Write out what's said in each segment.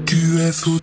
UFO.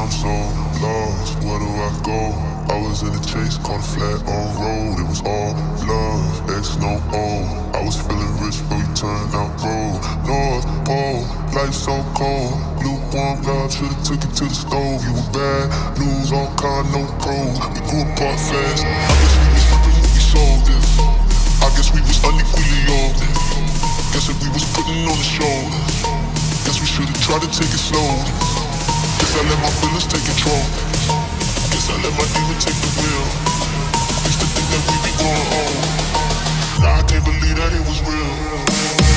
I'm so lost, where do I go? I was in a chase, caught a flat on road. It was all love, X no O. I was feeling rich, but we turned out broke. North Pole, life so cold. Lukewarm God, should've took it to the stove. You were bad news, all kind, no pros. We grew apart fast. I guess we was flipping what we sold this. I guess we was unequally yoked. Guess if we was putting on the show, guess we should've tried to take it slow. Guess I let my feelings take control. Guess I let my demon take the wheel. Used to think that we be going home. Now I can't believe that it was real.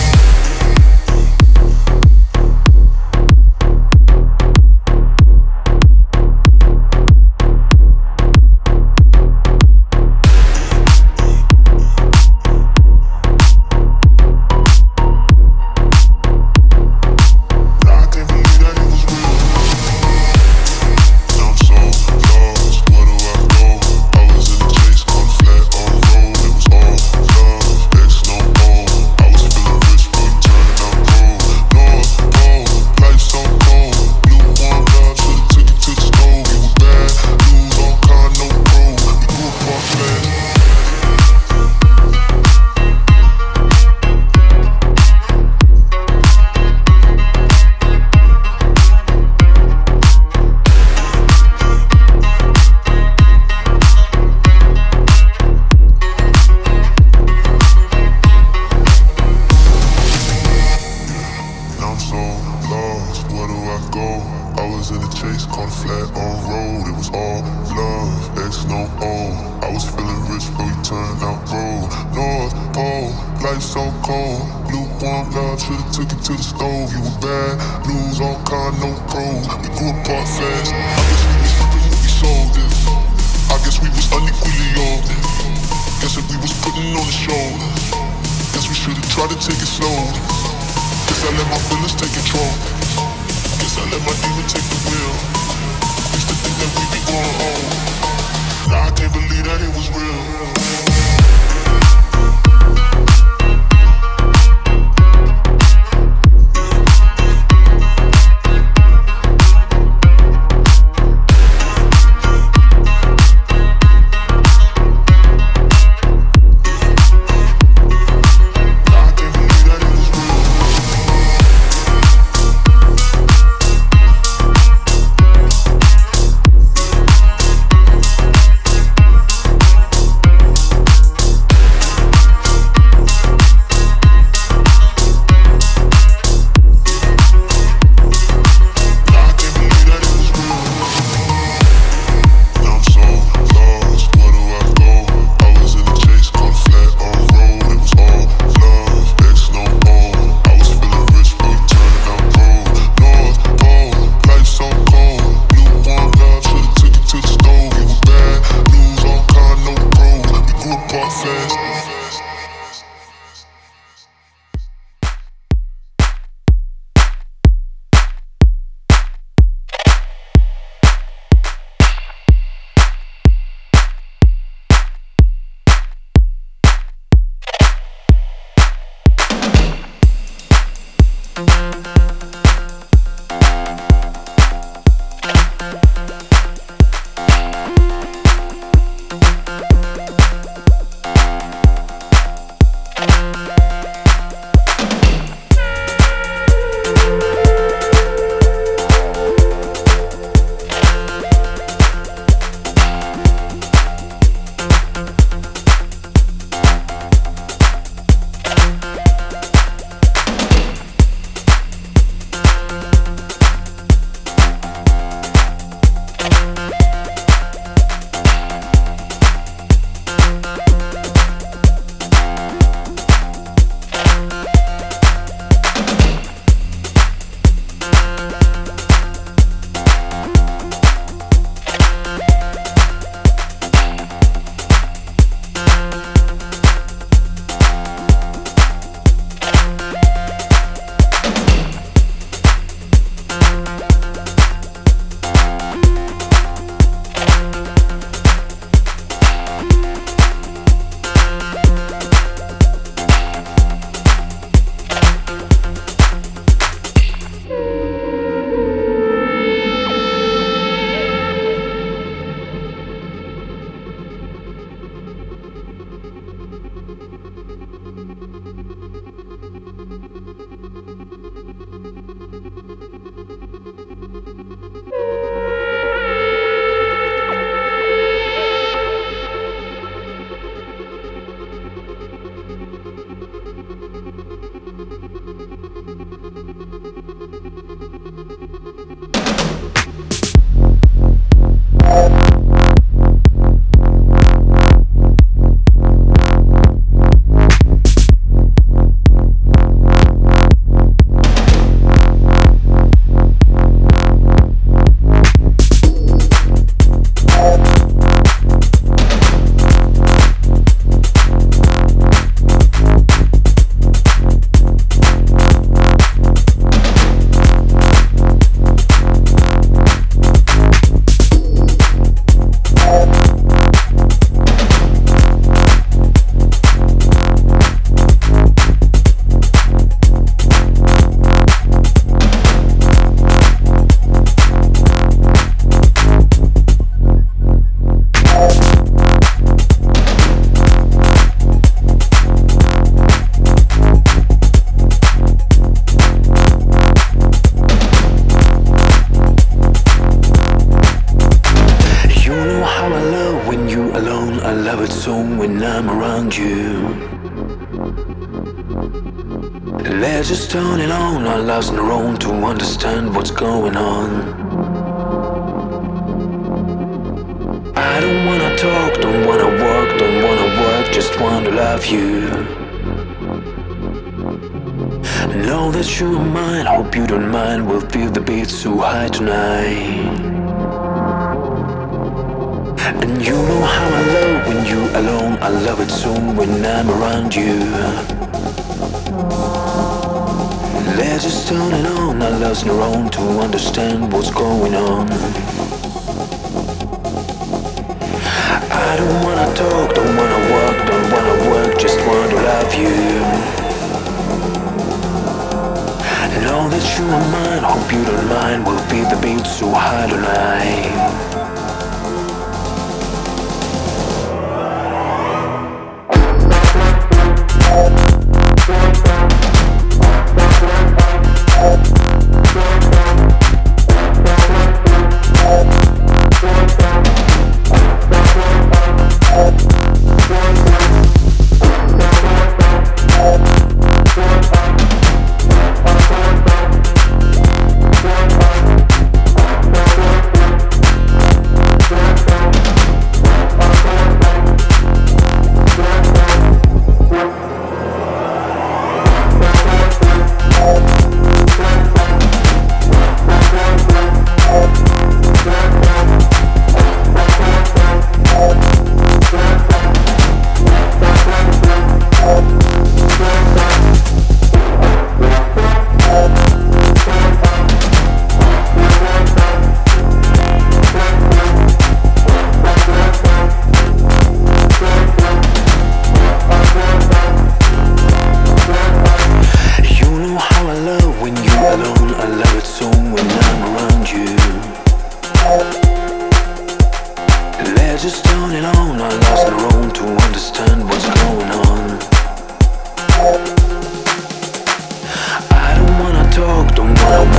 I was in a chase, caught a flat on road. It was all love, X no O. I was feeling rich, but we turned out broke. North Pole, life so cold. Lukewarm God, should've took it to the stove. You were bad news, all kind, no pros. We grew apart fast. I guess we was flipping what we sold this. I guess we was unequally yoked. Guess if we was putting on the show, guess we should've tried to take it slow. Guess I let my feelings take control. Guess I let my demon take the wheel. Used to think that we be going home. Now I can't believe that it was real. around you. Let's just turn it on, our lives on our own to understand what's going on. I don't wanna talk, don't wanna work, just wanna love you. Know that you're mine, hope you don't mind, we'll feel the beat so high tonight. And you know how I love when you're alone, I love it so when I'm around you. Let's just turn it on, our love's on our own to understand what's going on. I don't wanna talk, don't wanna work, just want to love you. Know that you are mine, hope you don't mind, we'll feel the beat so high tonight. Just turn it on, our lives on our own to understand what's going on. I don't wanna talk, don't wanna